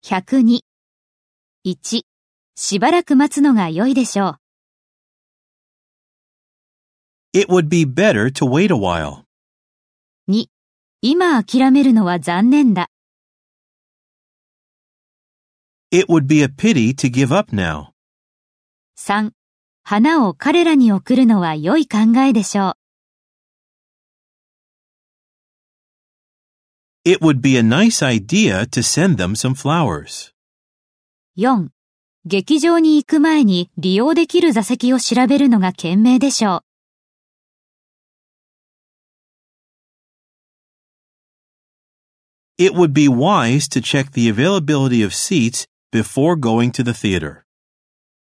102。1、しばらく待つのが良いでしょう。 It would be better to wait a while. 2、今諦めるのは残念だ。 It would be a pity to give up now. 3、花を彼らに送るのは良い考えでしょう。 It would be a nice idea to send them some flowers. 4、劇場に行く前に利用できる座席を調べるのが賢明でしょう。 It would be wise to check the availability of seats before going to the theater.